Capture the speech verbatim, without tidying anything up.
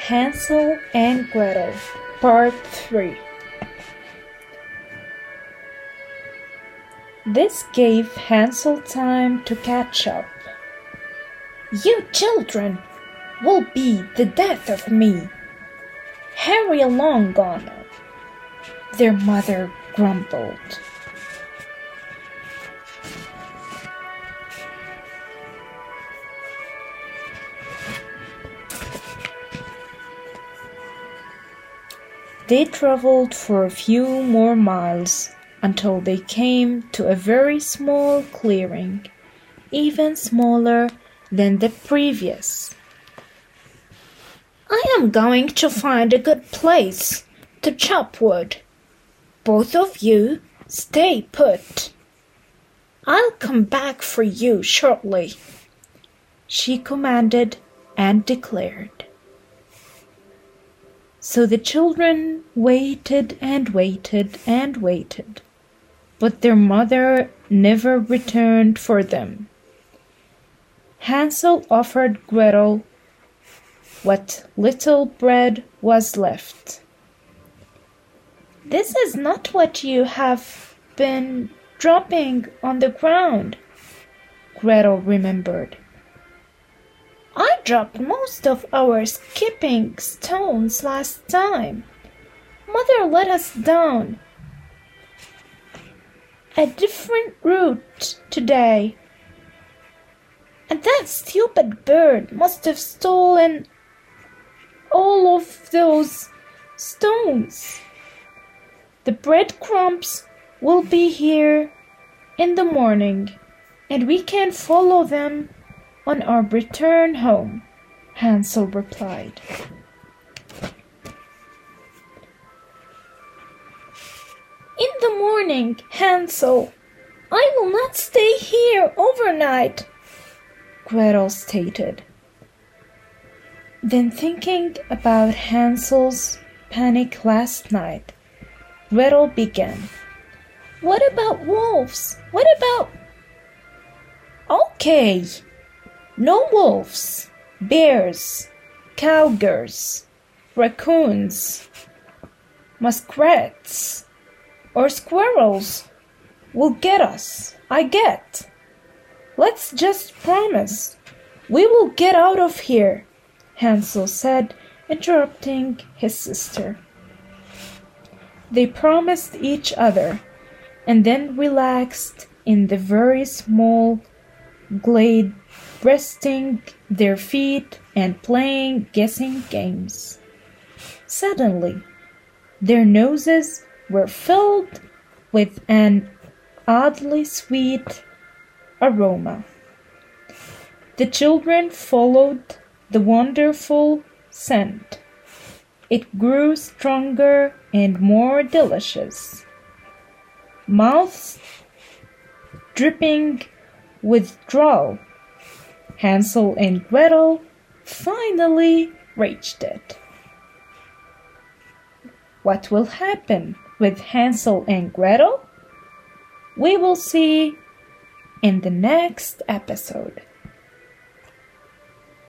Hansel and Gretel, Part three. This gave Hansel time to catch up. "You children will be the death of me. Hurry along, Gunnar," their mother grumbled. They traveled for a few more miles until they came to a very small clearing, even smaller than the previous. "I am going to find a good place to chop wood. Both of you stay put. I'll come back for you shortly," she commanded and declared. So the children waited and waited and waited, but their mother never returned for them. Hansel offered Gretel what little bread was left. "This is not what you have been dropping on the ground," Gretel remembered. "I dropped most of our skipping stones last time. Mother let us down a different route today, and that stupid bird must have stolen all of those stones. The breadcrumbs will be here in the morning, and we can follow them on our return home," Hansel replied. "In the morning, Hansel. I will not stay here overnight," Gretel stated. Then, thinking about Hansel's panic last night, Gretel began. "What about wolves? What about—" "Okay. No wolves, bears, cougars, raccoons, muskrats, or squirrels will get us, I get. Let's just promise we will get out of here," Hansel said, interrupting his sister. They promised each other and then relaxed in the very small glade, resting their feet and playing guessing games. Suddenly, their noses were filled with an oddly sweet aroma. The children followed the wonderful scent. It grew stronger and more delicious. Mouths dripping with drool, Hansel and Gretel finally reached it. What will happen with Hansel and Gretel? We will see in the next episode.